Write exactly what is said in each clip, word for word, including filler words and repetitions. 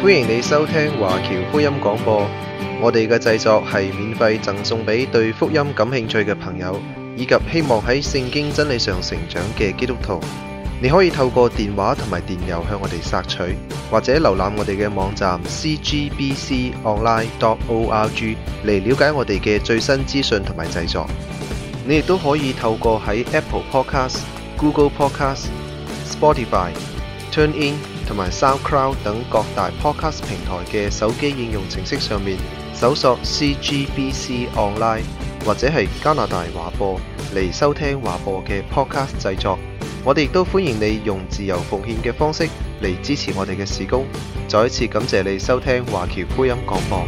歡迎你收聽華僑福音廣播。我哋嘅製作係免費贈送俾對福音感興趣嘅朋友，以及希望喺聖經真理上成長嘅基督徒。你可以透過電話同埋電郵向我哋索取，或者瀏覽我哋嘅網站 c g b c online dot org 嚟了解我哋嘅最新資訊同埋製作。你亦都可以透過喺 Apple Podcast、Google Podcast、Spotify、TuneIn 同埋 SoundCloud 等各大 Podcast 平台嘅手機應用程式上面搜索 C G B C Online 或者係加拿大華播嚟收聽華播嘅 Podcast 製作。我哋亦都歡迎你用自由奉獻嘅方式嚟支持我哋嘅事工。再一次感謝你收聽華僑福音廣播。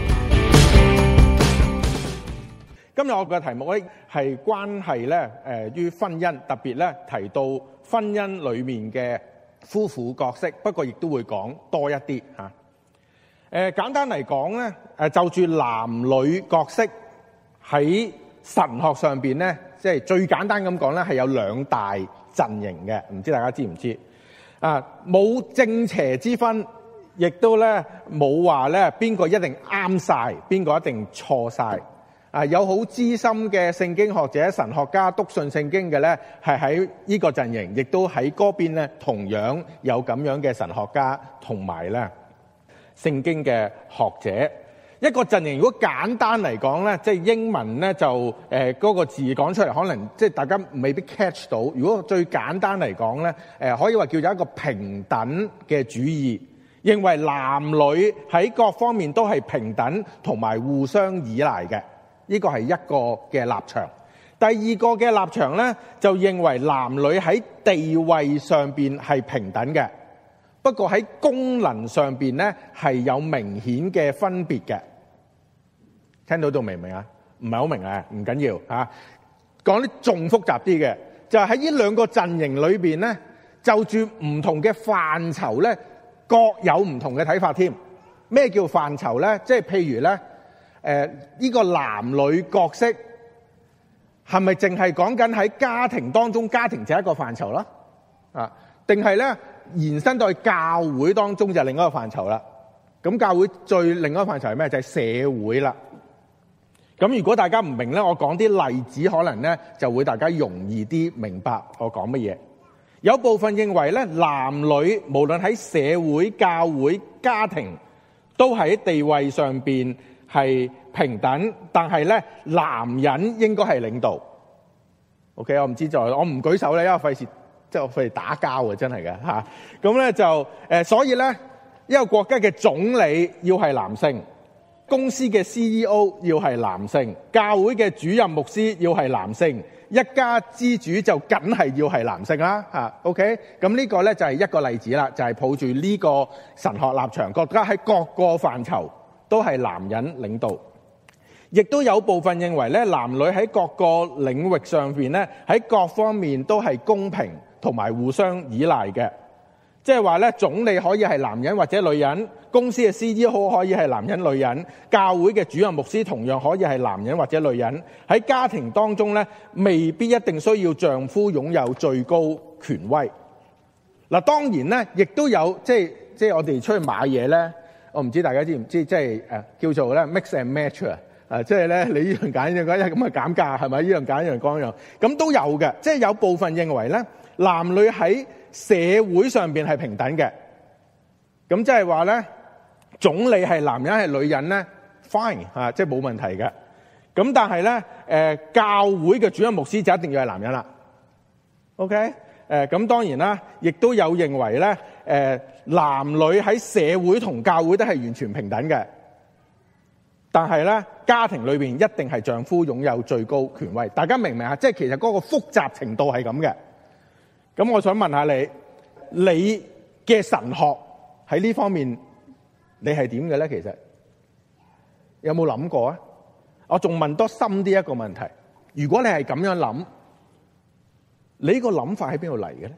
今日我嘅題目咧係關係咧誒於婚姻，特別咧提到婚姻裡面嘅夫婦角色，不過亦都會講多一啲嚇。誒、呃、簡單嚟講咧，誒就住男女角色喺神學上邊咧，即係最簡單咁講咧，係有兩大陣營嘅，唔知大家知唔知？啊，冇正邪之分，亦都咧冇話咧邊個一定啱晒，邊個一定錯晒。啊，有好資深嘅聖經學者、神學家篤信聖經嘅咧，係喺呢個陣營，亦都喺嗰邊咧，同樣有咁樣嘅神學家同埋咧聖經嘅學者。一個陣營如果簡單嚟講咧，即係英文咧就誒嗰個字講出嚟，可能即係大家未必 catch 到。如果最簡單嚟講咧，誒可以話叫做一個平等嘅主義，認為男女喺各方面都係平等同埋互相依賴嘅。呢個係一個嘅立場。第二個嘅立場咧，就認為男女喺地位上邊係平等嘅，不過喺功能上邊咧係有明顯嘅分別嘅。聽到到明唔明啊？唔係好明啊，唔緊要嚇。講啲仲複雜啲嘅，就係喺呢兩個陣營裏邊咧，就住唔同嘅範疇咧，各有唔同嘅睇法添。咩叫範疇咧？即係譬如咧。誒、呃、呢、這個男女角色係咪淨係講緊喺家庭當中，家庭就係一個範疇啦？啊，定係咧延伸到去教會當中就係另一個範疇啦？咁教會最另一個範疇係咩？就係、是、社會啦。咁如果大家唔明咧，我講啲例子，可能咧就會大家容易啲明白我講乜嘢。有部分認為咧，男女無論喺社會、教會、家庭，都喺地位上邊係平等，但係咧男人應該係領導。OK， 我唔知就我唔舉手咧，因為費事即係我費事打交啊，真係嘅嚇。咁咧就誒，所以咧一個國家嘅總理要係男性，公司嘅 C E O 要係男性，教會嘅主任牧師要係男性，一家之主就梗係要係男性啦嚇。OK，咁呢個咧就係一個例子啦，就係抱住呢個神學立場，國家喺各個範疇都係男人領導，亦都有部分認為咧，男女喺各個領域上邊咧，喺各方面都係公平同埋互相依賴嘅。即係話咧，總理可以係男人或者女人，公司嘅 C E O 可以係男人女人，教會嘅主任牧師同樣可以係男人或者女人。喺家庭當中咧，未必一定需要丈夫擁有最高權威。嗱，當然咧，亦都有即係即係我哋出去買嘢咧。我唔知大家知唔知，即係誒叫做咧 mix and match 啊！誒，即係咧你呢樣揀呢樣揀，咁啊減價係咪？呢樣揀呢樣講呢樣，咁都有嘅。即係有部分認為咧，男女喺社會上邊係平等嘅。咁即係話咧，總理係男人係女人咧 ，fine 啊，即係冇問題嘅。咁但係咧，誒教會嘅主任牧師就一定要係男人啦。OK。誒咁當然啦，亦都有認為咧，誒男女喺社會同教會都係完全平等嘅，但係咧家庭裏邊一定係丈夫擁有最高權威。大家明唔明啊？即係其實嗰個複雜程度係咁嘅。咁我想問下你，你嘅神學喺呢方面你係點嘅咧？其實有冇諗過啊？我仲問多深啲一個問題，如果你係咁樣諗，你呢個諗法喺邊度嚟嘅咧？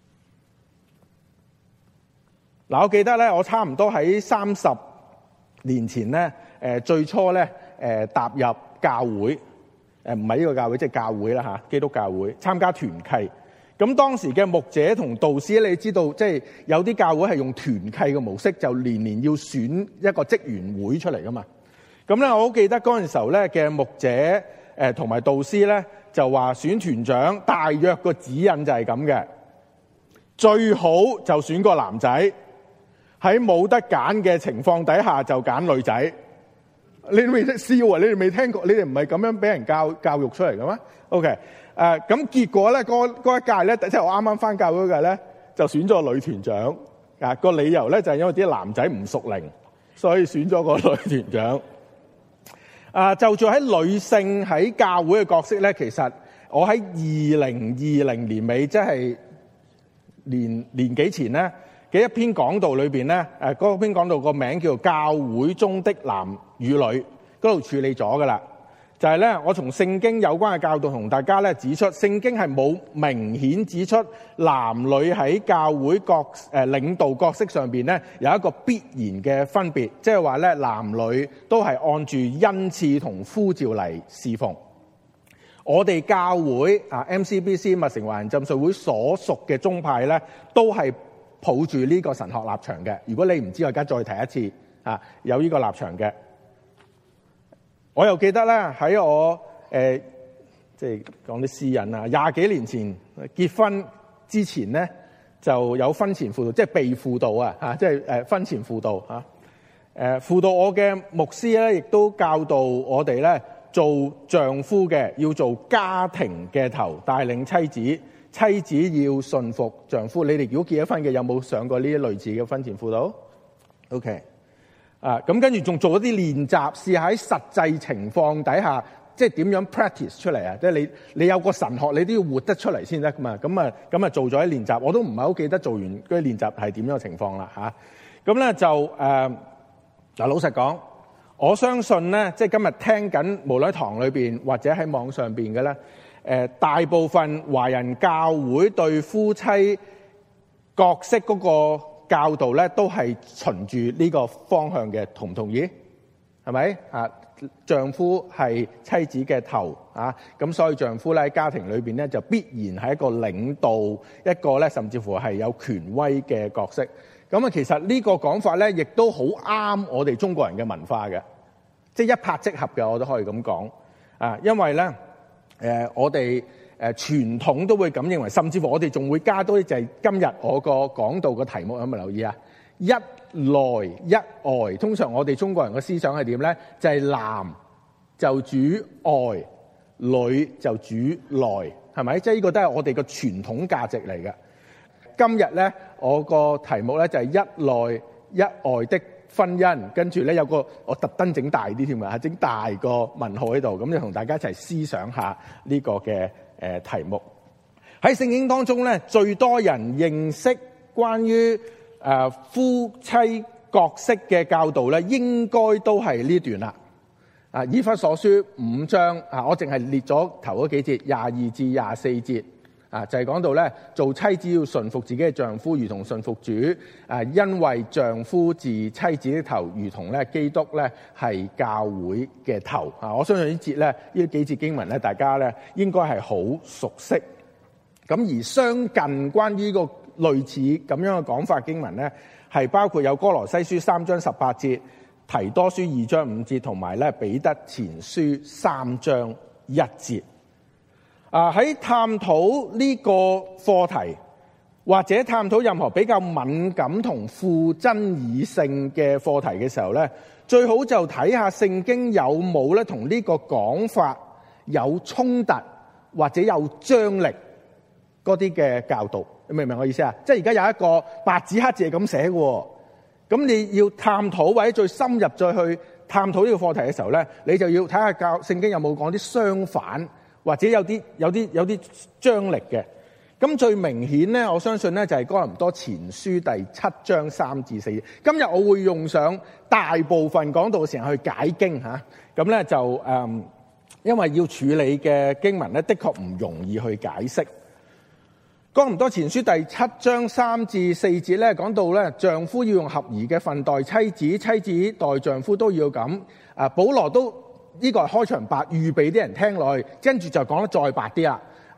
嗱，我記得咧，我差唔多喺三十年前咧，誒最初咧，誒踏入教會，誒唔係呢個教會，即係教會啦嚇，基督教會參加團契。 咁當時嘅牧者同導師，你知道即係有啲教會係用團契嘅模式，就年年要選一個職員會出嚟噶嘛。咁咧，我好記得嗰陣時候咧嘅牧者誒同埋導師咧就話選團長大約個指引就係咁嘅，最好就選個男仔，喺冇得揀嘅情況底下就揀女仔。你哋未識笑啊？你哋未聽過？你哋唔係咁樣俾人教教育出嚟嘅咩 ？OK， 誒、呃、咁結果咧，嗰嗰一屆咧，即係我啱啱翻教會嘅咧，就選咗個女團長。啊，個理由咧就係因為啲男仔唔屬靈，所以選咗個女團長。啊，就做喺女性喺教會嘅角色咧，其實我喺二零二零年尾，即係年年幾前咧嘅一篇講道裏邊咧，誒嗰篇講道個名叫做《教會中的男與女》，嗰度處理咗噶啦。就係咧，我從聖經有關嘅教導同大家咧指出，聖經係冇明顯指出男女喺教會角誒領導角色上邊咧有一個必然嘅分別，即係話咧男女都係按住恩賜同呼召嚟侍奉。我哋教會啊 M C B C 麥城華人浸信會所屬嘅宗派咧，都係抱住呢個神學立場嘅。如果你唔知，我而家再提一次啊，有呢個立場嘅。我又記得咧喺我誒即係講啲私隱啊，廿幾年前結婚之前咧就有婚前輔導，即係被輔導啊嚇，即係誒婚前輔導嚇。誒輔導我嘅牧師咧，亦都教導我哋咧做丈夫嘅要做家庭嘅頭，帶領妻子，妻子要順服丈夫。你哋如果結咗婚嘅，有冇上過呢啲類似嘅婚前輔導 ？OK。啊，咁跟住仲做一啲練習，試下喺實際情況底下，即係點樣 practice 出嚟啊！即係你你有個神學，你都要活得出嚟先得噶嘛。咁啊，咁啊做咗啲練習，我都唔係好記得做完嗰啲練習係點樣嘅情況啦嚇。咁、啊、咧就誒嗱、呃，老實講，我相信咧，即係今日聽緊無論喺堂裏邊或者喺網上邊嘅咧，誒、呃、大部分華人教會對夫妻角色嗰、那個教導咧都係循住呢個方向嘅，同唔同意？係咪啊？丈夫係妻子嘅頭啊，咁所以丈夫咧喺家庭裏邊咧就必然係一個領導，一個咧甚至乎係有權威嘅角色。咁啊，其實呢個講法咧，亦都好啱我哋中國人嘅文化嘅，即係一拍即合嘅，我都可以咁講啊。因為咧，誒、呃、我哋。誒傳統都會咁認為，甚至乎我哋仲會加多啲，就係今日我個講道嘅題目有冇留意啊？一內一外，通常我哋中國人嘅思想係點咧？就係、是、男就主外，女就主內，係咪？即係呢個都係我哋嘅傳統價值嚟嘅。今日咧，我個題目咧就係一內一外的婚姻，跟住咧有個我特登整大啲添啊，整大個問號喺度，咁就同大家一齊思想下呢個嘅誒題目。喺聖經當中咧，最多人認識關於誒夫妻角色嘅教導咧，應該都係呢段啦。啊，以弗所書五章啊，我淨係列咗頭嗰幾節，廿二至廿四節。啊，就係、是、講到咧，做妻子要順服自己嘅丈夫，如同順服主。啊，因為丈夫是妻子的頭，如同咧基督咧係教會嘅頭。啊，我相信呢節咧，呢幾節經文咧，大家咧應該係好熟悉。咁而相近關於呢個類似咁樣嘅講法經文咧，係包括有哥羅西書三章十八節、提多書二章五節，同埋咧彼得前書三章一節。啊！喺探討呢個課題，或者探討任何比較敏感同富爭議性嘅課題嘅時候咧，最好就睇下聖經有冇咧同呢個講法有衝突或者有張力嗰啲嘅教導。你明唔明我意思啊？即係而家有一個白紙黑字係咁寫嘅，咁你要探討或者最深入再去探討呢個課題嘅時候咧，你就要睇下教聖經有冇講啲相反。或者有啲有啲有啲張力嘅，咁最明顯咧，我相信咧就係哥林多前書第七章三至四節。今日我會用上大部分講道嘅時間去解經嚇，咁咧就誒、嗯，因為要處理嘅經文咧，的確唔容易去解釋。哥林多前書第七章三至四節咧，講到咧丈夫要用合宜嘅分待妻子，妻子待丈夫都要咁。啊，保羅都。呢個係開場白，預備啲人聽落去，跟住就講得再白啲啦。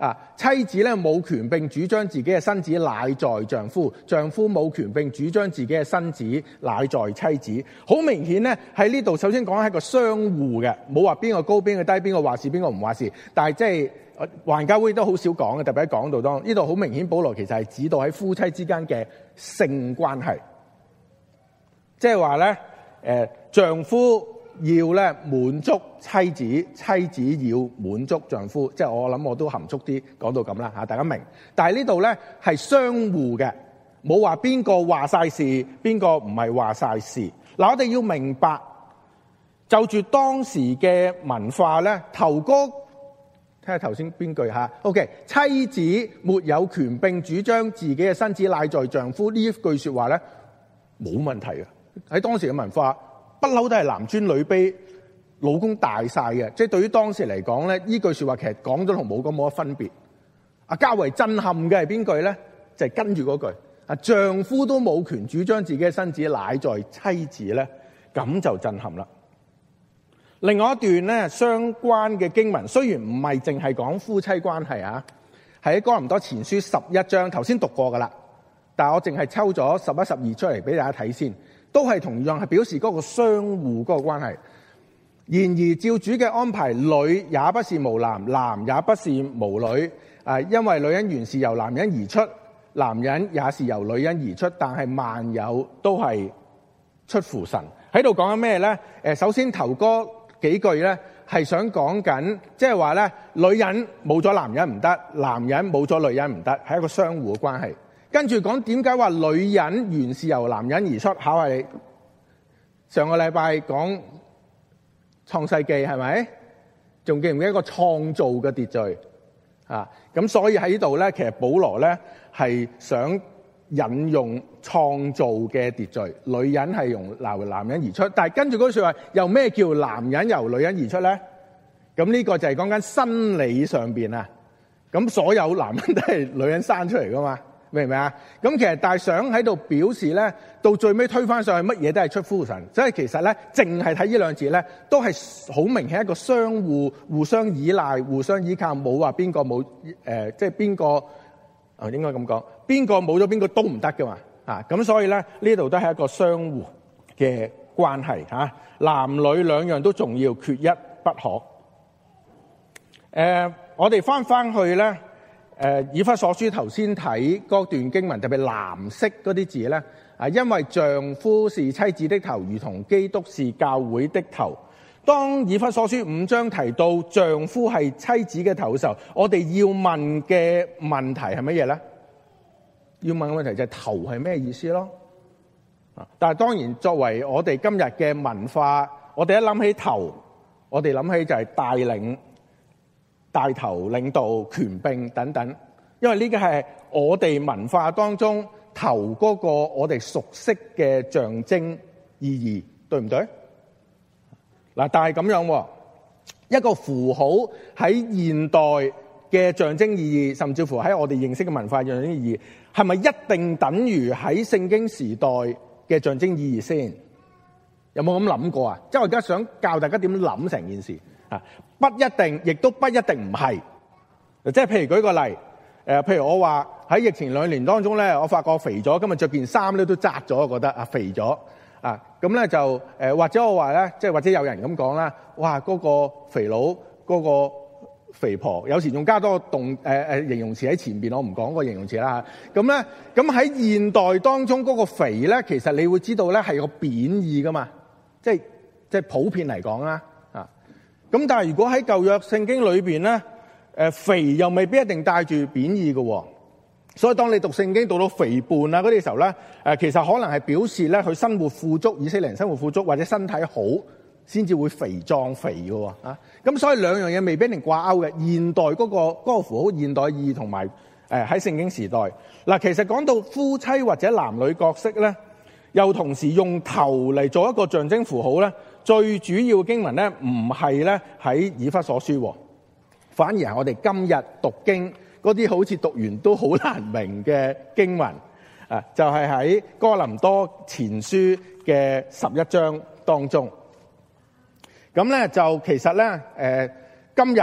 啊，妻子咧冇權並主張自己嘅身子乃在丈夫，丈夫冇權並主張自己嘅身子乃在妻子。好明顯咧喺呢度，首先講係一個相互嘅，冇話邊個高邊個低，邊個話事邊個唔話事。但係即係環教會都好少講嘅，特別喺講道當呢度好明顯，保羅其實係指到喺夫妻之間嘅性關係，即係話咧誒丈夫要咧滿足妻子，妻子要滿足丈夫，即係我諗我都含蓄啲講到咁啦嚇，大家明。但係呢度咧係相互嘅，冇話邊個話晒事，邊個唔係話晒事。嗱，我哋要明白，就住當時嘅文化咧，頭嗰睇下頭先邊句嚇 ，OK， 妻子沒有權並主張自己嘅身子乃在丈夫呢一句説話咧冇問題嘅，喺當時嘅文化。不嬲都係男尊女卑，老公大晒嘅，即係對於當時嚟講咧，呢句説話其實講咗同冇講冇乜分別。啊，較為震撼嘅係邊句咧？就係、是、跟住嗰句，啊，丈夫都冇權主張自己嘅身子乃在妻子咧，咁就震撼啦。另外一段咧相關嘅經文，雖然唔係淨係講夫妻關係啊，係喺哥林多前書十一章，頭先讀過噶啦，但係我淨係抽咗十一、十二出嚟俾大家睇先。都係同樣係表示嗰個相互嗰個關係。然而照主嘅安排，女也不是無男，男也不是無女。啊，因為女人原是由男人而出，男人也是由女人而出，但係萬有都係出乎神。喺度講緊咩咧？誒，首先頭嗰幾句咧係想講緊，即係話咧，女人冇咗男人唔得，男人冇咗女人唔得，係一個相互嘅關係。跟住講點解話女人原是由男人而出？考下你，上個禮拜講創世記係咪？仲記唔記得一個創造嘅秩序啊？咁所以喺呢度咧，其實保羅咧係想引用創造嘅秩序，女人係由男人而出。但係跟住嗰句說話，又咩叫男人由女人而出咧？咁呢個就係講緊生理上邊啊。咁所有男人都係女人生出嚟噶嘛？明唔明啊？咁其實但係想喺度表示咧，到最尾推翻上去，乜嘢都係出乎神。所以其實咧，淨係睇呢兩字咧，都係好明顯一個相互、互相依賴、互相依靠，冇話邊個冇誒，即係邊個啊？應該咁講，邊個冇咗邊個都唔得噶嘛。啊，咁所以咧呢度都係一個相互嘅關係嚇、啊。男女兩樣都重要，缺一不可。誒、呃，我哋翻翻去咧。誒，以弗所書頭先睇嗰段經文，特別藍色嗰啲字咧，啊，因為丈夫是妻子的頭，如同基督是教會的頭。當以弗所書五章提到丈夫係妻子嘅頭嘅時候，我哋要問嘅問題係乜嘢咧？要問嘅問題就係頭係咩意思咯？啊，但係當然作為我哋今日嘅文化，我哋一諗起頭，我哋諗起就係帶領。帶頭領導權柄等等，因為呢個係我哋文化當中頭嗰個我哋熟悉嘅象徵意義，對唔對？嗱，但係咁樣，一個符號喺現代嘅象徵意義，甚至乎喺我哋認識嘅文化象徵意義，係咪一定等於喺聖經時代嘅象徵意義先？有冇咁諗過啊？即係我而家想教大家點諗成件事。啊，不一定，亦都不一定唔係。即係譬如舉個例，誒、呃，譬如我話喺疫情兩年當中咧，我發覺肥咗，今日着件衫咧都窄咗，我覺得啊肥咗啊，咁咧就誒、呃，或者我話咧，即係或者有人咁講啦，哇，嗰、那個肥佬，嗰、那個肥婆，有時仲加多個動誒誒、呃、形容詞喺前邊，我唔講個形容詞啦嚇。咁咧，咁喺現代當中嗰個肥咧，其實你會知道咧係個貶義噶嘛，即係即係普遍嚟講啦。咁但係如果喺舊約聖經裏邊咧，誒肥又未必一定帶住貶義嘅，所以當你讀聖經讀到肥胖啊嗰啲時候咧，誒其實可能係表示咧佢生活富足，以色列人生活富足或者身體好，先至會肥壯肥嘅啊。咁所以兩樣嘢未必一定掛鈎嘅。現代嗰個嗰個符號，現代意義同埋誒喺聖經時代嗱，其實講到夫妻或者男女角色咧，又同時用頭嚟做一個象徵符號咧。最主要嘅經文咧，唔係咧喺以弗所書，反而係我哋今日讀經嗰啲好似讀完都好難明嘅經文，啊，就係喺哥林多前書嘅十一章當中。咁咧就其實咧，誒今日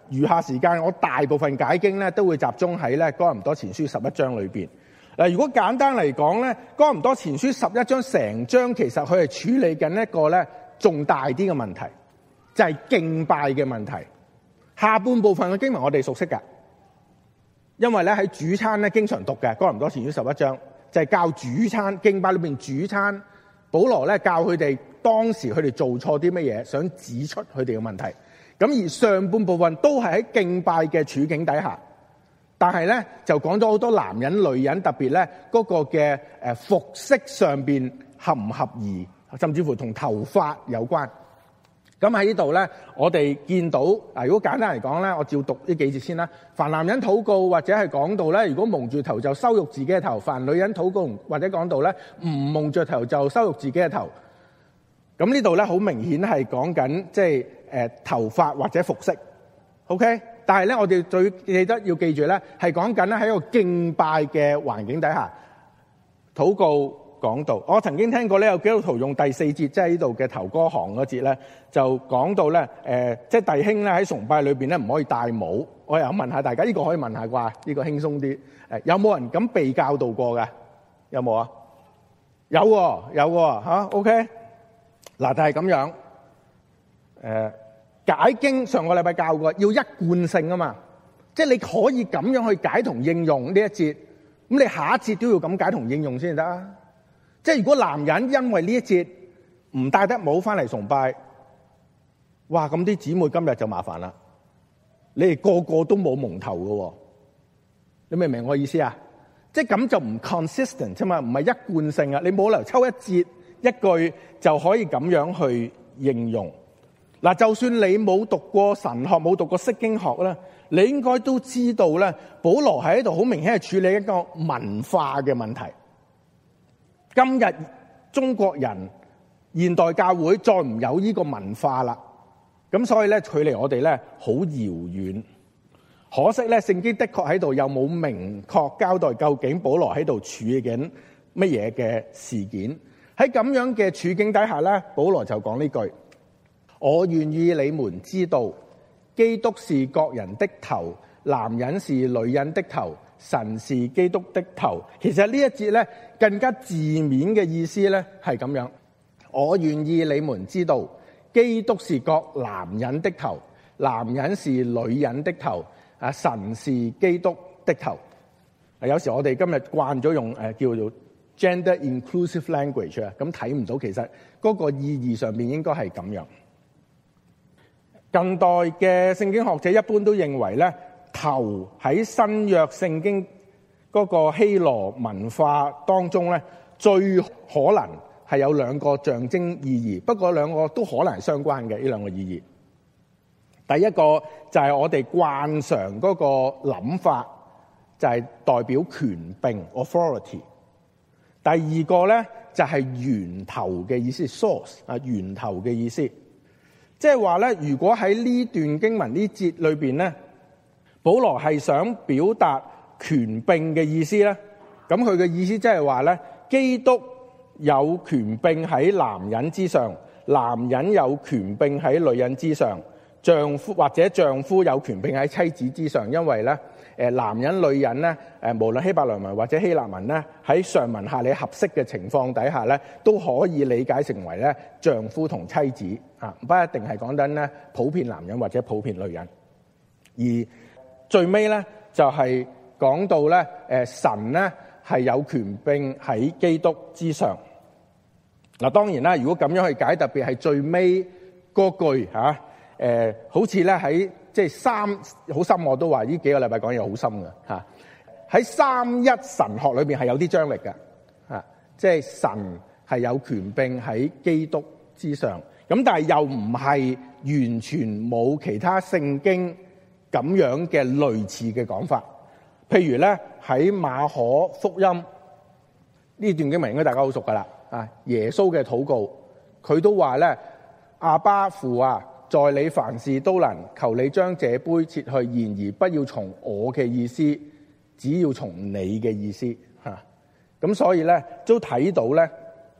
餘下時間我大部分解經咧都會集中喺咧哥林多前書十一章裏邊。嗱，如果簡單嚟講咧，哥林多前書十一章成章其實佢係處理緊一個咧重大啲嘅問題，就係敬拜嘅問題。下半部分嘅經文我哋熟悉㗎，因為咧喺主餐咧經常讀嘅哥林多前書十一章，就係教主餐敬拜裏邊主餐。保羅咧教佢哋當時佢哋做錯啲乜嘢，想指出佢哋嘅問題。咁而上半部分都係喺敬拜嘅處境底下，但係咧就講咗好多男人女人，特別咧嗰個嘅誒服飾上邊合唔合宜，甚至乎同頭髮有關。咁喺呢度咧，我哋見到啊，如果簡單嚟講咧，我照讀呢幾節先啦。凡男人禱告或者係講到咧，如果蒙住頭就羞辱自己嘅頭；凡女人禱告或者講到咧，唔蒙住頭就羞辱自己嘅頭。咁呢度咧好明顯係講緊即係誒頭髮或者服飾。OK， 但係咧我哋最記得要記住咧，係講緊咧喺一個敬拜嘅環境底下禱告。講到，我曾經聽過咧，有基督徒用第四節，即係呢度嘅頭歌行嗰節咧，就講到咧，誒、呃，即係弟兄咧喺崇拜裏邊咧唔可以戴帽。我又問下大家，呢、這個可以問下啩？呢、這個輕鬆啲。誒，有冇人咁被教導過嘅？有冇啊？有喎，有喎，吓 OK。嗱，但係咁樣，誒、呃，解經上個禮拜教過，要一貫性啊嘛，即係你可以咁樣去解同應用呢一節，咁你下一節都要咁解同應用先得啊。即係如果男人因為呢一節唔戴得帽翻嚟崇拜，哇！咁啲姊妹今日就麻煩啦。你哋個個都冇蒙頭㗎，你明唔明我意思啊？即係咁就唔 consistent 啫嘛，唔係一貫性啊。你冇理由抽一節一句就可以咁樣去應用。嗱，就算你冇讀過神學，冇讀過釋經學咧，你應該都知道咧，保羅喺度好明顯係處理一個文化嘅問題。今日中國人現代教會再唔有呢個文化啦，咁所以咧距離我哋咧好遙遠。可惜咧聖經的確喺度又冇明確交代究竟保羅喺度處理緊乜嘢嘅事件。喺咁樣嘅處境底下咧，保羅就講呢句：我願意你們知道，基督是各人的頭，男人是女人的頭，神是基督的頭。其實呢一節咧更加字面嘅意思咧係咁樣，我願意你們知道，基督是各男人的頭，男人是女人的頭，啊，神是基督的頭。有時我哋今日慣咗用誒叫做 gender inclusive language 啊，咁睇唔到其實嗰個意義上面應該係咁樣。近代嘅聖經學者一般都認為咧，頭喺新約聖經嗰個希羅文化當中咧，最可能係有兩個象徵意義，不過兩個都可能係相關嘅呢兩個意義。第一個就係我哋慣常嗰個諗法，就係代表權柄 authority。第二個咧就係源頭嘅意思 source 啊，源頭嘅意思，即係話咧，如果喺呢段經文呢節裏邊咧，保羅係想表達權柄嘅意思咧，咁佢嘅意思即係話咧，基督有權柄喺男人之上，男人有權柄喺女人之上，丈夫或者丈夫有權柄喺妻子之上，因為咧，誒男人女人咧，誒無論希伯來文或者希臘文咧，喺上文下理合適嘅情況底下咧，都可以理解成為咧丈夫同妻子啊，不一定係講緊咧普遍男人或者普遍女人。而最尾咧就係講到咧，誒神咧係有權柄喺基督之上。嗱，當然啦，如果咁樣去解，特別係最尾嗰句嚇。誒、呃，好似咧喺即係三好深，我都話呢幾個禮拜講嘢好深嘅嚇。喺、啊、三一神學裏邊係有啲張力嘅嚇、啊，即係神係有權柄喺基督之上。咁但係又唔係完全冇其他聖經咁樣嘅類似嘅講法。譬如咧喺馬可福音呢段經文，應該大家好熟噶啦啊，耶穌嘅禱告，佢都話咧，阿爸父啊，在你凡事都能，求你將這杯撤去，然而不要從我嘅意思，只要從你嘅意思嚇。咁、啊、所以咧都睇到咧，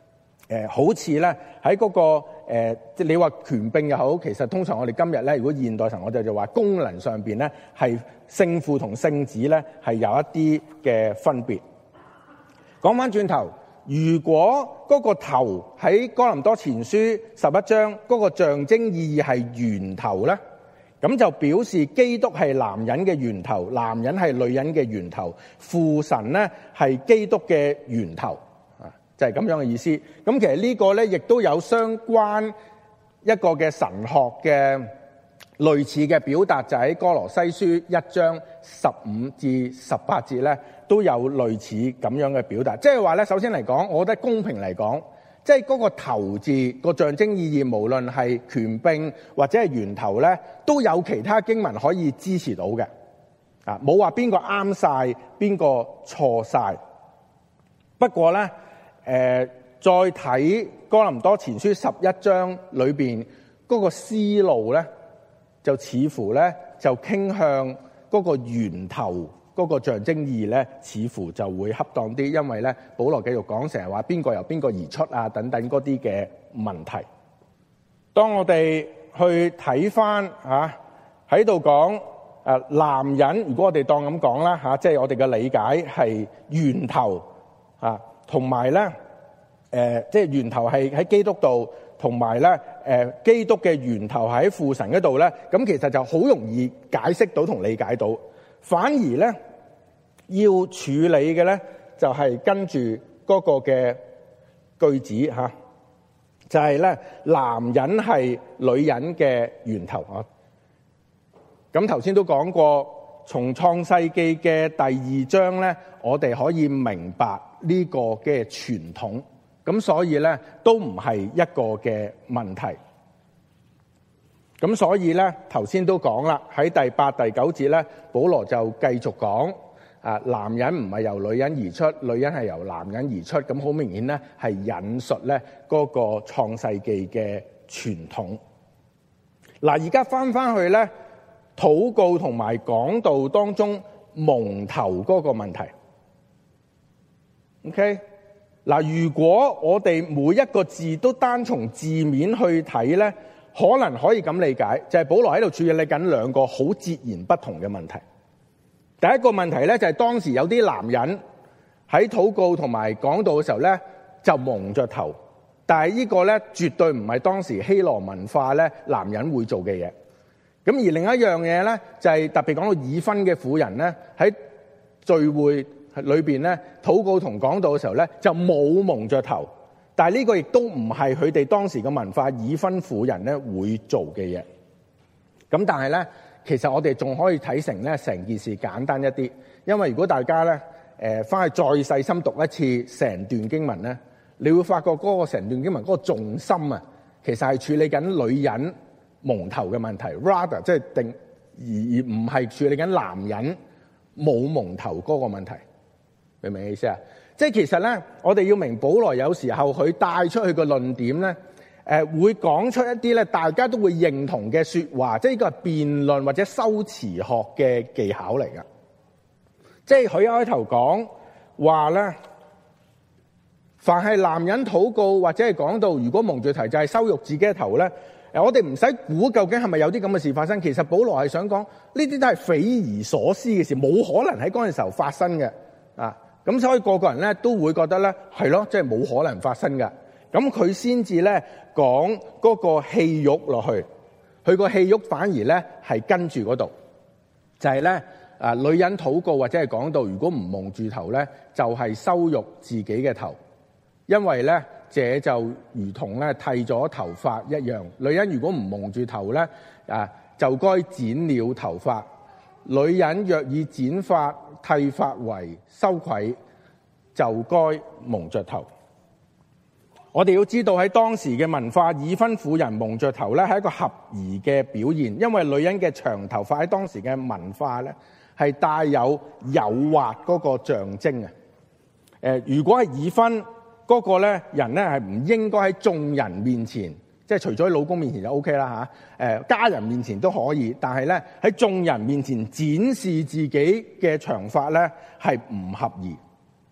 呃、好似咧喺嗰個誒，即係你話權柄又好，其實通常我哋今日咧，如果現代神我哋就話功能上邊咧係聖父同聖子咧係有一啲嘅分別。講翻轉頭，如果嗰個頭喺哥林多前書十一章嗰個象徵意義係源頭咧，咁就表示基督係男人嘅源頭，男人係女人嘅源頭，父神咧係基督嘅源頭，啊，就係咁樣嘅意思。咁其實呢個咧亦都有相關一個嘅神學嘅類似嘅表達，就喺哥羅西書一章十五至十八節咧，都有類似咁樣嘅表達。即係話咧，首先嚟講，我覺得公平嚟講，即係嗰個頭字個象徵意義，無論係權柄或者係源頭咧，都有其他經文可以支持到嘅。啊，冇話邊個啱晒，邊個錯晒。不過咧，誒、呃，再睇哥林多前書十一章裏邊嗰個思路咧，就似乎咧就傾向嗰個源頭嗰個象徵意義咧，似乎就會恰當啲，因為咧保羅繼續講成日話邊個由邊個而出啊等等嗰啲嘅問題。當我哋去睇翻嚇喺度講誒男人，如果我哋當咁講啦嚇，即係我哋嘅理解係源頭啊，同埋咧誒即係源頭係喺基督度。同埋咧，誒基督嘅源頭喺父神嗰度咧，咁其實就好容易解釋到同理解到。反而咧要處理嘅咧，就係跟住嗰個嘅句子嚇，就係咧男人係女人嘅源頭啊。咁頭先都講過，從創世記嘅第二章咧，我哋可以明白呢個嘅傳統。咁所以咧都唔係一個嘅問題。咁所以咧頭先都講啦，喺第八、第九節咧，保羅就繼續講啊，男人唔係由女人而出，女人係由男人而出。咁好明顯咧係引述咧嗰個創世記嘅傳統。嗱，而家翻翻去咧禱告同埋講道當中蒙頭嗰個問題。OK。嗱，如果我哋每一個字都單從字面去睇咧，可能可以咁理解，就係保羅喺度處理緊兩個好截然不同嘅問題。第一個問題咧，就係當時有啲男人喺禱告同埋講道嘅時候咧，就蒙着頭，但係呢個咧絕對唔係當時希羅文化咧男人會做嘅嘢。咁而另一樣嘢咧，就係特別講到已婚嘅婦人咧喺聚會裏邊咧禱告同講道嘅時候咧就冇蒙着頭，但係呢個亦都唔係佢哋當時嘅文化，已婚婦人咧會做嘅嘢。咁但係咧，其實我哋仲可以睇成咧成件事簡單一啲，因為如果大家咧誒翻去再細心讀一次成段經文咧，你會發覺嗰個成段經文嗰個重心啊，其實係處理緊女人蒙頭嘅問題 ，rather 即係定而而唔係處理緊男人冇蒙頭嗰個問題。明唔明意思啊？即係其實咧，我哋要明保羅有時候佢帶出去個論點咧，誒、呃、會講出一啲咧大家都會認同嘅說話，即係呢個係辯論或者修辭學嘅技巧嚟噶。即係佢一開頭講話咧，凡係男人禱告或者係講到如果蒙住頭就係羞辱自己嘅頭咧，誒我哋唔使估究竟係咪有啲咁嘅事發生。其實保羅係想講呢啲都係匪夷所思嘅事，冇可能喺嗰陣時候發生嘅啊。咁所以個個人咧都會覺得咧係咯，即係冇可能發生㗎。咁佢先至咧講嗰個戲肉落去，佢個戲肉反而咧係跟住嗰度，就係咧啊女人禱告或者係講到如果唔蒙住頭咧，就係羞辱自己嘅頭，因為咧這就如同咧剃咗頭髮一樣。女人如果唔蒙住頭咧啊，就該剪了頭髮。女人若以剪髮剃髮為羞愧，就該蒙着頭。我哋要知道喺當時嘅文化，已婚婦人蒙着頭咧係一個合宜嘅表現，因為女人嘅長頭髮喺當時嘅文化咧係帶有誘惑嗰個象徵啊。誒，如果係已婚嗰個咧人咧係唔應該喺眾人面前，即係除咗喺老公面前就 O K 啦嚇，誒家人面前都可以，但係咧喺眾人面前展示自己嘅長髮咧係唔合宜。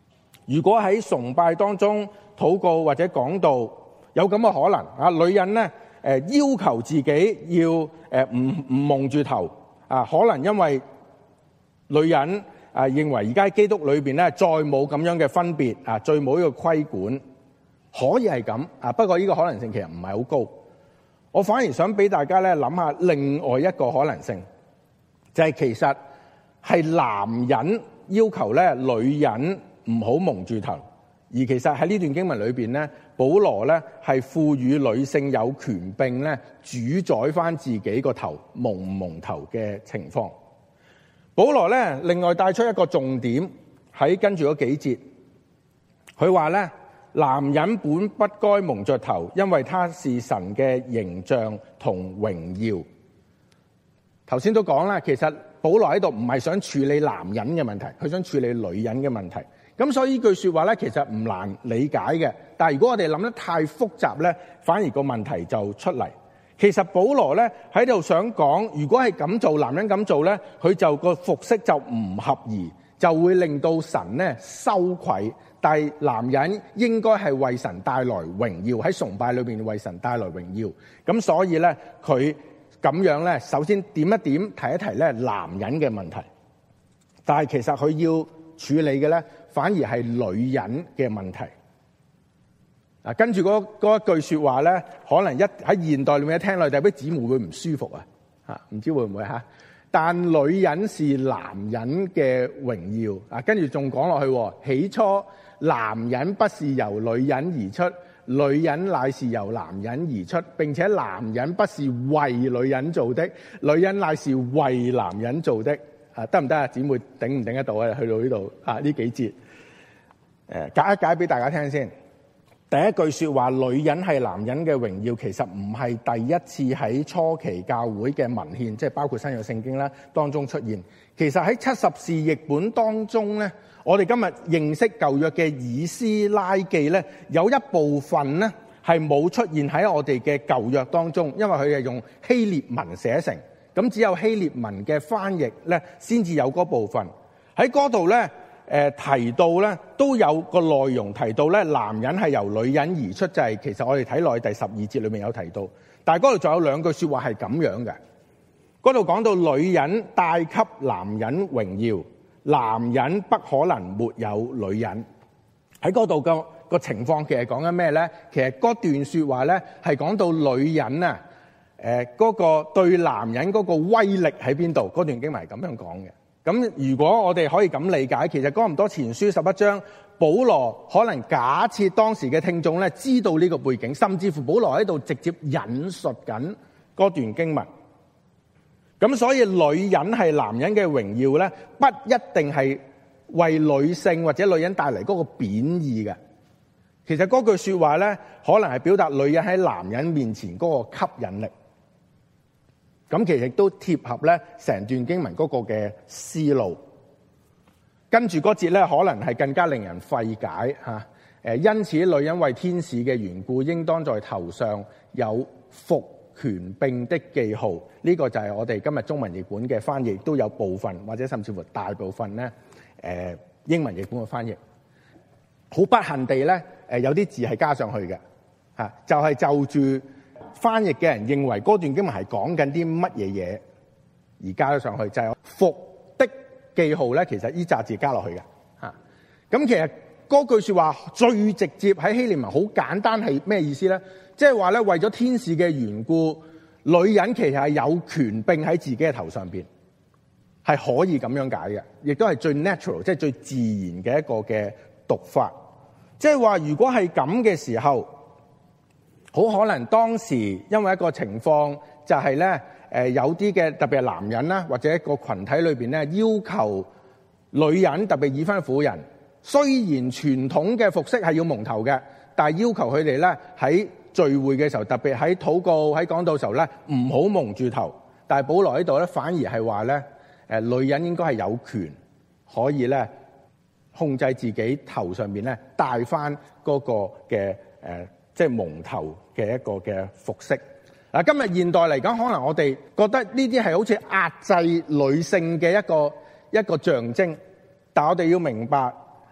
如果喺崇拜當中禱告或者講道，有咁嘅可能啊，女人咧誒要求自己要誒唔唔蒙住頭啊，可能因為女人啊認為而家基督裏邊咧再冇咁樣嘅分別啊，再冇呢個規管，可以係咁啊。不過呢個可能性其實唔係好高。我反而想俾大家咧諗下另外一個可能性，就係其實係男人要求咧女人唔好蒙住頭，而其實喺呢段經文裏邊咧，保羅咧係賦予女性有權柄咧主宰翻自己個頭蒙唔蒙頭嘅情況。保羅咧另外帶出一個重點喺跟住嗰幾節，佢話咧，男人本不該蒙着頭，因為他是神嘅形象同榮耀。頭先都講啦，其實保羅喺度唔係想處理男人嘅問題，佢想處理女人嘅問題。咁所以呢句說話咧，其實唔難理解嘅。但係如果我哋諗得太複雜咧，反而個問題就出嚟。其實保羅咧喺度想講，如果係咁做，男人咁做咧，佢就個服飾就唔合宜，就會令到神咧羞愧。但係男人應該係為神帶來榮耀，喺崇拜裏邊為神帶來榮耀。咁所以咧，佢咁樣咧，首先點一點提一提咧男人嘅問題。但係其實佢要處理嘅咧，反而係女人嘅問題。嗱，跟住嗰嗰一句說話咧，可能一喺現代裏面一聽落，就俾姊妹會唔舒服啊！嚇，唔知會唔會嚇？但女人是男人嘅榮耀啊！跟住仲講落去，起初男人不是由女人而出，女人乃是由男人而出，並且男人不是為女人做的，女人乃是為男人做的。啊，得唔得啊？姊妹頂唔頂得到啊？去到呢度啊，呢幾節誒解一解俾大家聽先。第一句說話，女人係男人嘅榮耀，其實唔係第一次喺初期教會嘅文獻，即係包括新約聖經啦當中出現。其實喺七十士譯本當中咧，我哋今日認識舊約嘅以斯拉記咧，有一部分咧係冇出現喺我哋嘅舊約當中，因為佢係用希臘文寫成，咁只有希臘文嘅翻譯咧先至有嗰部分喺嗰度咧。誒提到咧，都有個內容提到咧，男人係由女人而出，就係、是、其實我哋睇落去第十二節裏面有提到，但係嗰度仲有兩句說話係咁樣嘅。嗰度講到女人帶給男人榮耀，男人不可能沒有女人。喺嗰度個個情況其實講緊咩咧？其實嗰段說話咧係講到女人啊，誒、呃、嗰、那個對男人嗰個威力喺邊度？嗰段經文係咁樣講嘅。咁如果我哋可以咁理解，其實哥林多前書十一章，保羅可能假設當時嘅聽眾咧知道呢個背景，甚至乎保羅喺度直接引述緊嗰段經文。咁所以女人係男人嘅榮耀咧，不一定係為女性或者女人帶嚟嗰個貶義嘅。其實嗰句說話咧，可能係表達女人喺男人面前嗰個吸引力。咁其實都貼合咧成段經文嗰個嘅思路，跟住嗰節咧可能係更加令人費解嚇。誒，因此女人為天使嘅緣故，應當在頭上有服權柄的記號。呢、這個就係我哋今日中文譯本嘅翻譯，都有部分或者甚至乎大部分咧誒英文譯本嘅翻譯。好不幸地咧，誒有啲字係加上去嘅嚇，就係、是、就住。翻譯嘅人認為嗰段經文係講緊啲乜嘢嘢而加咗上去，就係、是、服的記號咧。其實呢紮字加落去嘅嚇。咁其實嗰句說話最直接喺希臘文好簡單，係咩意思咧？即係話咧，為咗天使嘅緣故，女人其實係有權柄喺自己嘅頭上邊，係可以咁樣解嘅，亦都係最 natural，即係最自然嘅一個嘅讀法。即係話如果係咁嘅時候，好可能當時因為一個情況就係咧，誒有啲嘅特別係男人啦，或者一個群體裏邊咧，要求女人特別已婚婦人，雖然傳統嘅服飾係要蒙頭嘅，但係要求佢哋咧喺聚會嘅時候，特別喺禱告喺講道嘅時候咧，唔好蒙住頭。但係保羅喺度咧，反而係話咧，誒女人應該係有權可以咧控制自己頭上邊咧戴翻嗰個嘅誒。即係蒙頭嘅一個嘅服飾。嗱，今日現代嚟講，可能我哋覺得呢啲係好似壓制女性嘅一個一個象徵，但係我哋要明白，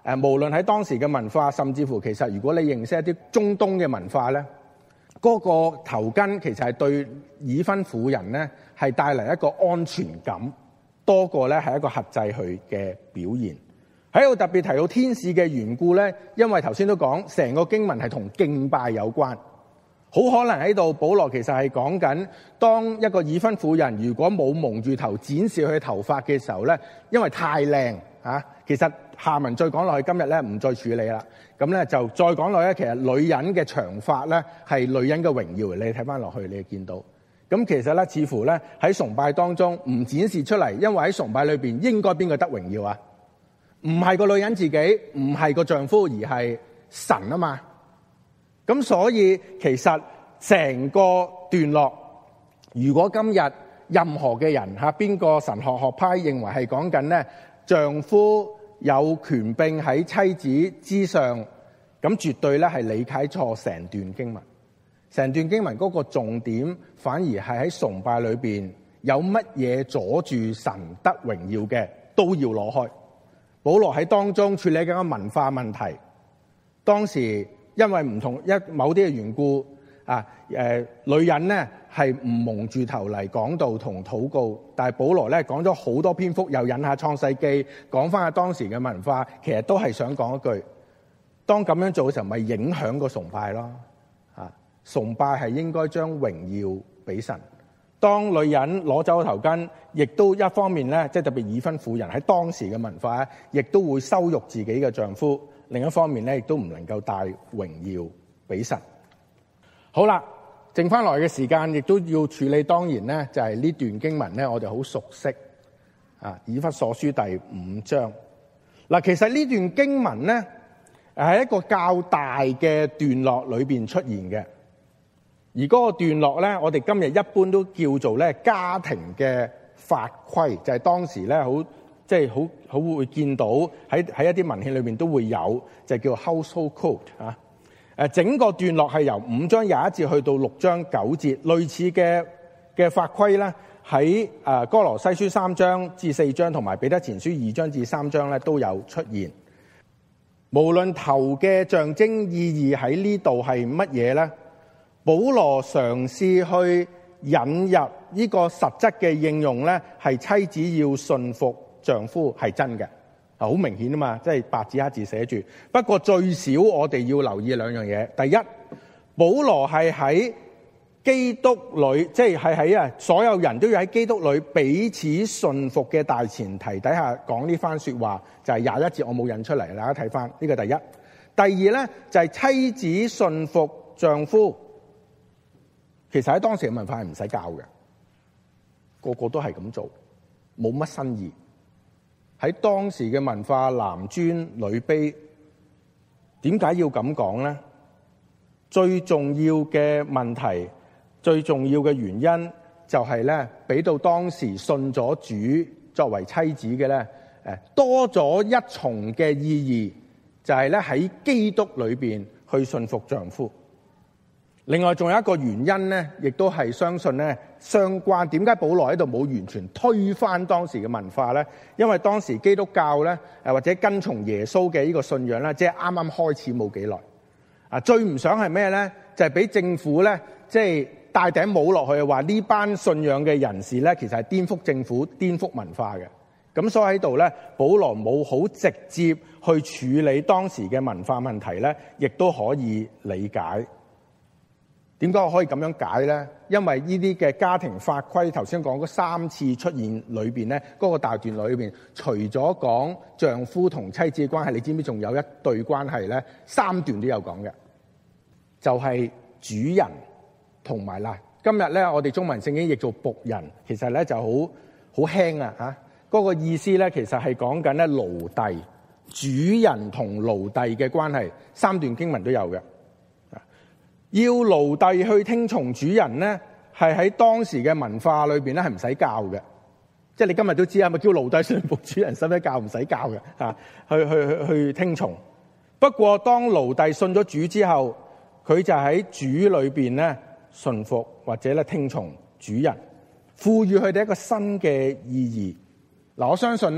誒，無論喺當時嘅文化，甚至乎其實如果你認識一啲中東嘅文化咧，嗰個頭巾其實係對已婚婦人咧係帶嚟一個安全感，多過咧係一個克制佢嘅表現。喺度特別提到天使嘅緣故咧，因為頭先都講成個經文係同敬拜有關。好可能喺度，保羅其實係講緊，當一個已婚婦人如果冇蒙住頭展示佢頭髮嘅時候咧，因為太靚嚇，其實下文再講落去，今日咧唔再處理啦。咁咧就再講落去，其實女人嘅長髮咧係女人嘅榮耀。你睇翻落去，你就見到。咁其實咧，似乎咧喺崇拜當中唔展示出嚟，因為喺崇拜裏邊應該邊個得榮耀啊？唔係個女人自己，唔係個丈夫，而係神啊嘛。咁所以其實成個段落，如果今日任何嘅人嚇邊個神學學派認為係講緊咧丈夫有權柄喺妻子之上，咁絕對咧係理解錯成段經文。成段經文嗰個重點反而係喺崇拜裏邊有乜嘢阻住神得榮耀嘅都要攞開。保羅喺當中處理緊一個文化問題，當時因為唔同一某啲嘅緣故啊，誒、呃、女人咧係唔蒙住頭嚟講道同禱告，但係保羅咧講咗好多篇幅，又引下創世記，講翻下當時嘅文化，其實都係想講一句：當咁樣做嘅時候，咪影響個崇拜咯。啊，崇拜係應該將榮耀俾神。當女人攞走個頭巾，亦都一方面咧，即係特別已婚婦人喺當時嘅文化，亦都會羞辱自己嘅丈夫；另一方面咧，亦都唔能夠帶榮耀俾神。好啦，剩翻來嘅時間，亦都要處理。當然咧，就係呢段經文咧，我哋好熟悉啊，以弗所書第五章。嗱，其實呢段經文咧，係一個較大嘅段落裏邊出現嘅。而嗰個段落咧，我哋今日一般都叫做咧家庭嘅法規，就係、是、當時咧好即係好好會見到喺喺一啲文獻裏面都會有，就叫 household code 啊。誒，整個段落係由五章廿一節去到六章九節，類似嘅嘅法規咧喺誒哥羅西書三章至四章同埋彼得前書二章至三章咧都有出現。無論頭嘅象徵意義喺呢度係乜嘢咧？保羅嘗試去引入呢個實質嘅應用咧，係妻子要順服丈夫係真嘅，好明顯啊嘛，即係白紙黑字寫住。不過最少我哋要留意兩樣嘢。第一，保羅係喺基督裏，即係係喺啊所有人都要喺基督裏彼此順服嘅大前提底下講呢番說話，就係廿一節我冇引出嚟，大家睇翻呢個第一。第二咧就係妻子順服丈夫。其實喺當時嘅文化係唔使教嘅，個個都係咁做，冇乜新意。喺當時嘅文化，男尊女卑，點解要咁講咧？最重要嘅問題，最重要嘅原因就係咧，俾到當時信咗主作為妻子嘅咧，誒多咗一重嘅意義，就係咧喺基督裏邊去順服丈夫。另外仲有一個原因咧，亦都係相信咧相關。點解保羅喺度冇完全推翻當時嘅文化咧？因為當時基督教咧，誒或者跟從耶穌嘅呢個信仰咧，即係啱啱開始冇幾耐。啊，最唔想係咩咧？就係俾政府咧，即係戴頂帽落去，話呢班信仰嘅人士咧，其實係顛覆政府、顛覆文化嘅。咁所以喺度咧，保羅冇好直接去處理當時嘅文化問題咧，亦都可以理解。點解我可以咁樣解咧？因為呢啲嘅家庭法規，頭先講嗰三次出現裏邊咧，嗰、嗰個大段落裏邊，除咗講丈夫同妻子嘅關係，你知唔知仲有一對關係咧？三段都有講嘅，就係、係、主人同埋啦。今日咧，我哋中文聖經譯做僕人，其實咧就好好輕啊嚇。嗰、嗰個意思咧，其實係講緊咧奴隸、主人同奴隸嘅關係，三段經文都有嘅。要奴隸去聽從主人咧，係喺當時嘅文化裏邊咧係唔使教嘅，即係你今日都知係咪叫奴隸順服主人使唔使教？唔使教嘅嚇，去去去去聽從。不過當奴隸信咗主之後，佢就喺主裏邊咧順服或者咧聽從主人，賦予佢哋一個新嘅意義。嗱，我相信咧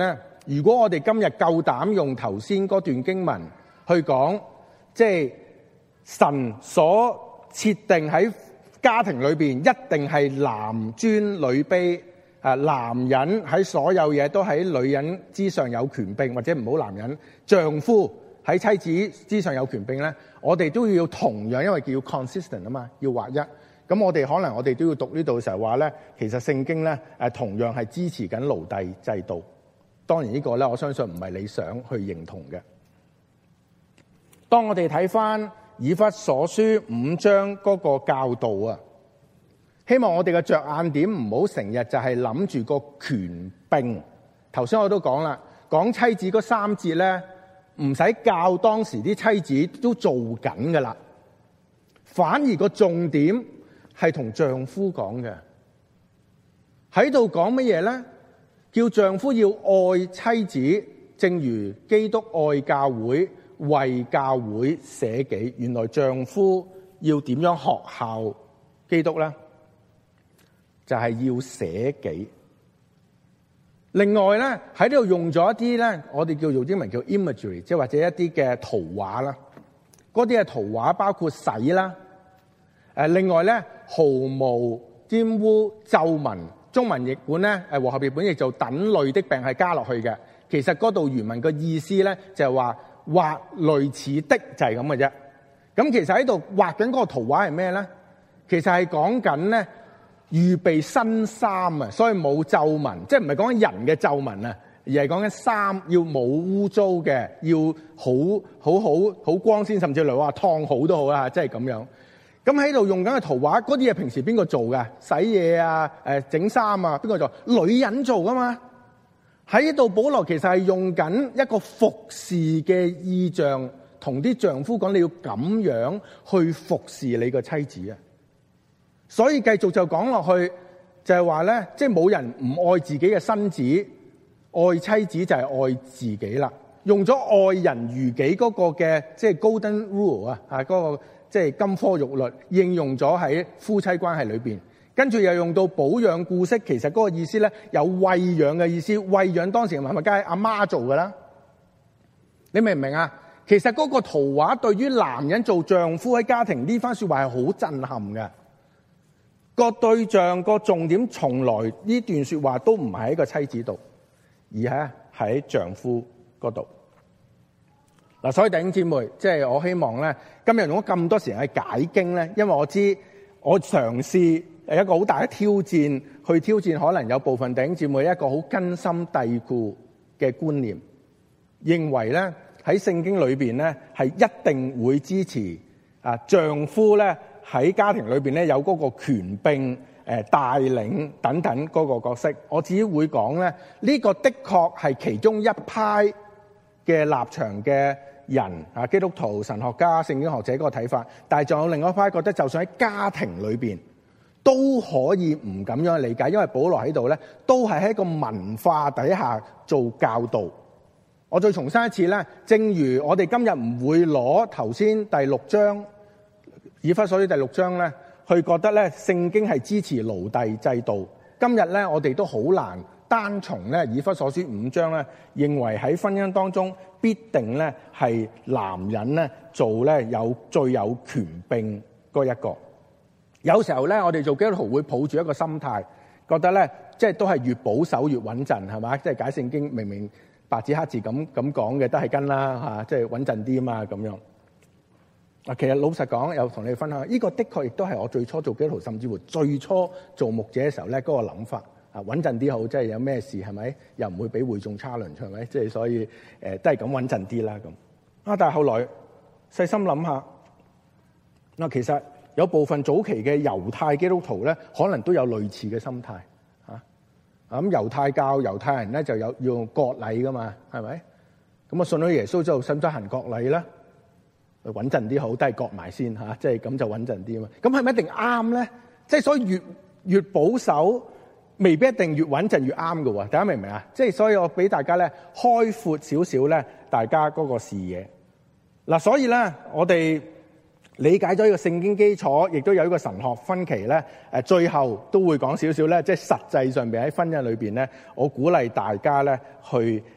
如果我哋今日夠膽用頭先嗰段經文去講，即係神所設定喺家庭裏邊一定係男尊女卑，啊，男人喺所有嘢都喺女人之上有權柄，或者唔好男人，丈夫喺妻子之上有權柄咧，我哋都要同樣，因為叫 consistent 啊嘛，要劃一。咁我哋可能我哋都要讀呢度嘅時候話咧，其實聖經咧誒同樣係支持緊奴隸制度。當然呢個咧，我相信唔係你想去認同嘅。當我哋睇翻以弗所書五章嗰個教導啊，希望我哋嘅着眼點唔好成日就係諗住個權柄。頭先我都講啦，講妻子嗰三節咧，唔使教當時啲妻子都做緊噶啦，反而個重點係同丈夫講嘅。喺度講乜嘢咧？叫丈夫要愛妻子，正如基督愛教會，為教會捨己。原來丈夫要點樣學效基督咧？就係要捨己。另外咧，喺呢度用咗一啲咧，我哋叫做英文叫 imagery， 即係或者一啲嘅圖畫啦。嗰啲嘅圖畫包括洗啦，誒，另外咧，毫無玷污皺紋。中文譯本咧，誒和合譯本亦做等類的病係加落去嘅。其實嗰度原文嘅意思咧，就係話畫類似的就係咁嘅啫。咁其實喺度畫緊嗰個圖畫係咩咧？其實係講緊咧預備新衫啊，所以冇皺紋，即係唔係講緊人嘅皺紋啊，而係講緊衫要冇污糟嘅，要好好好好光鮮，甚至嚟話燙好都好啦，即係咁樣。咁喺度用緊嘅圖畫，嗰啲嘢平時邊個做㗎？洗嘢啊，誒整衫啊，邊個做？女人做㗎嘛。喺呢度保羅其實係用緊一個服侍嘅意象，同啲丈夫講你要咁樣去服侍你個妻子啊。所以繼續就講落去，就係話咧，即係冇人唔愛自己嘅身子，愛妻子就係愛自己啦。用咗愛人如己嗰個嘅即係 Golden Rule 啊，啊嗰個。即係金科玉律應用咗喺夫妻關係裏邊，跟住又用到保養顧惜，其實嗰個意思咧有餵養嘅意思，餵養當時係咪梗係阿媽做㗎啦？你明唔明啊？其實嗰個圖畫對於男人做丈夫喺家庭呢番説話係好震撼嘅。個對象個重點從來呢段説話都唔係喺個妻子度，而係喺丈夫嗰度。嗱，所以弟兄姊妹，即係我希望咧，今日用咗咁多時間去解經咧，因為我知我嘗試係一個好大嘅挑戰，去挑戰可能有部分弟兄姊妹一個好根深蒂固嘅觀念，認為咧喺聖經裏邊咧係一定會支持啊丈夫咧喺家庭裏邊咧有嗰個權柄、誒帶領等等嗰個角色。我只會講咧，呢個的確係其中一派嘅立場嘅人啊，基督徒、神學家、聖經學者嗰個睇法，但係仲有另外一派覺得，就算喺家庭裏邊都可以唔咁樣理解，因為保羅喺度咧，都係喺一個文化底下做教導。我再重申一次咧，正如我哋今日唔會攞頭先第六章以弗所書第六章咧，去覺得咧聖經係支持奴隸制度。今日咧，我哋都好難單從咧以弗所書五章咧，認為喺婚姻當中必定咧係男人咧做咧有最有權柄嗰一個。有時候咧，我哋做基督徒會抱住一個心態，覺得咧即係都係越保守越穩陣，係嘛？即係解聖經明明白紙黑字咁咁講嘅，都係跟啦嚇，即係穩陣啲啊嘛咁樣。啊，其實老實講，有同你哋分享，呢個的確亦都係我最初做基督徒，甚至乎最初做牧者嘅時候咧嗰個諗法。啊，穩陣啲好，即係有咩事係咪？又唔會俾會眾 challenge，係咪？即係所以誒、呃，都係咁穩陣啲啦咁。啊，但係後來細心諗下，嗱，其實有部分早期嘅猶太基督徒咧，可能都有類似嘅心態嚇。啊，咁猶太教猶太人咧就有要用割禮噶嘛，係咪？咁啊，信咗耶穌之後，使唔使行割禮咧？穩陣啲好，都係割埋先嚇，即係咁就穩陣啲啊嘛。咁係咪一定啱咧？即係所以越越保守，未必一定越穩陣越啱嘅喎，大家明唔明啊？即係所以我俾大家咧開闊少少咧，大家嗰個視野。嗱，所以咧我哋理解咗呢個聖經基礎，亦都有呢個神學分歧咧。誒，最後都會講少少咧，即係實際上邊喺婚姻裏邊咧，我鼓勵大家咧去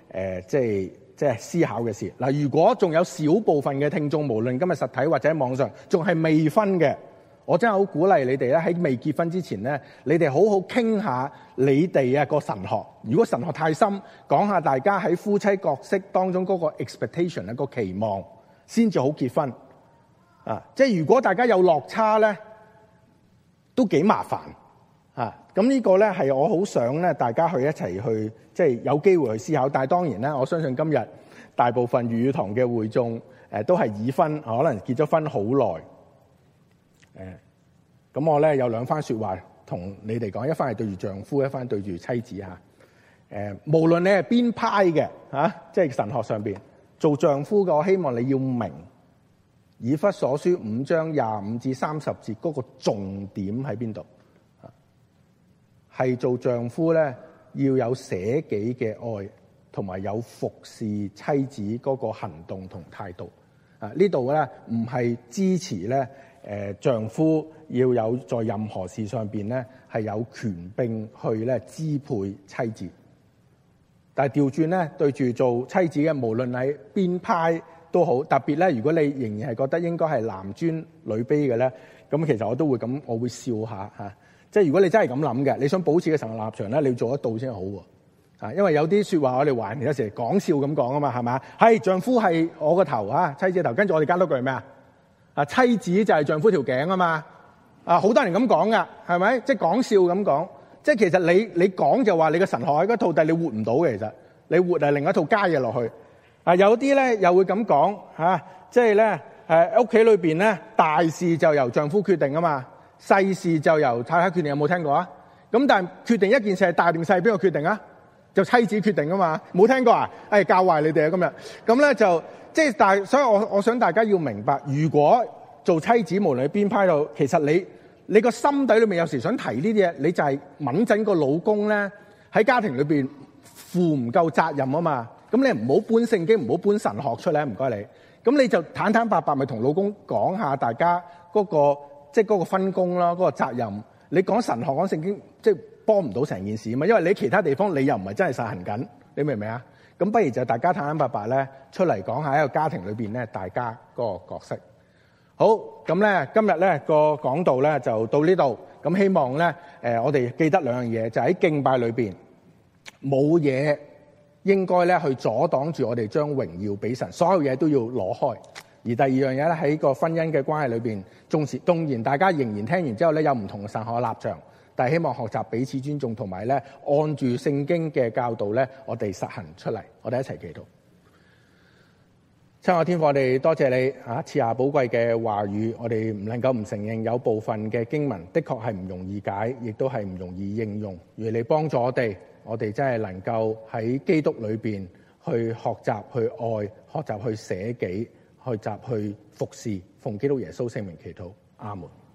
誒即係即係思考嘅事。嗱，如果仲有少部分嘅聽眾，無論今日實體或者網上，仲係未婚嘅，我真係好鼓勵你哋咧，喺未結婚之前咧，你哋好好傾下你哋啊個神學。如果神學太深，講下大家喺夫妻角色當中嗰個 expectation 一個期望，先至好結婚。啊，即係如果大家有落差咧，都幾麻煩。啊，咁呢個咧係我好想咧，大家去一齊去，即係有機會去思考。但係當然咧，我相信今日大部分粵語堂嘅會眾誒都係已婚，可能結咗婚好耐。誒，咁我咧有兩番說話同你哋講，一番係對住丈夫，一番對住妻子嚇。誒，無論你係邊派嘅嚇，即係神學上邊做丈夫嘅，我希望你要明以弗所書五章廿五至三十節嗰個重點喺邊度。係做丈夫咧，要有捨己嘅愛，同埋有服侍妻子嗰個行動同態度。啊，呢度咧唔係支持咧，誒丈夫要有在任何事上邊咧係有權柄去咧支配妻子。但係調轉咧，對住做妻子嘅，無論喺邊派都好，特別咧，如果你仍然係覺得應該係男尊女卑嘅咧，咁其實我都會咁，我會笑下嚇。即係如果你真係咁諗嘅，你想保持嘅神學立場咧，你要做得到先好喎。啊，因為有啲説話我哋華人有時講笑咁講啊嘛，係咪？係丈夫係我個頭啊，妻子嘅頭。跟住我哋加多句係咩啊？啊，妻子就係丈夫條頸啊嘛。啊，好多人咁講噶，係咪？即係講笑咁講。即係其實你你講就話你個神學喺嗰套，但係你活唔到嘅。其實你活係另一套加嘢落去。啊，有啲咧又會咁講嚇，即係咧誒屋企裏邊咧大事就由丈夫決定啊嘛。細事就由太太決定，有冇聽過啊？咁但係決定一件事係大定細，邊個決定啊？就妻子決定啊嘛，冇聽過啊？誒，教壞你哋啊！今日咁咧就即係，但係所以我我想大家要明白，如果做妻子無論喺邊派度，其實你你個心底裏面有時想提呢啲嘢，你就係敏陣個老公咧喺家庭裏邊負唔夠責任啊嘛。咁你唔好搬聖經，唔好搬神學出嚟，唔該你。咁你就坦坦白白咪同老公講下大家嗰個。即係嗰個分工啦，嗰個責任。你講神學講聖經，即係幫唔到成件事啊嘛。因為你其他地方你又唔係真係實行緊，你明唔明啊？咁不如就大家坦坦白白咧出嚟講下喺個家庭裏邊咧，大家嗰個角色。好，咁咧今日咧個講道咧就到呢度。咁希望咧誒我哋記得兩樣嘢，就喺敬拜裏邊冇嘢應該咧去阻擋住我哋將榮耀俾神，所有嘢都要攞開。而第二樣嘢咧，喺個婚姻嘅關係裏邊，縱使當然大家仍然聽完之後咧有唔同嘅神學立場，但係希望學習彼此尊重，同埋咧按住聖經嘅教導咧，我哋實行出嚟。我哋一齊祈禱。親愛天父，我哋多謝你啊，賜下寶貴嘅話語。我哋唔能夠唔承認有部分嘅經文的確係唔容易解，亦都係唔容易應用。如你幫助我哋，我哋真係能夠喺基督裏邊去學習去愛，學習去捨己。去集去服侍，奉基督耶穌聖名祈禱，阿門。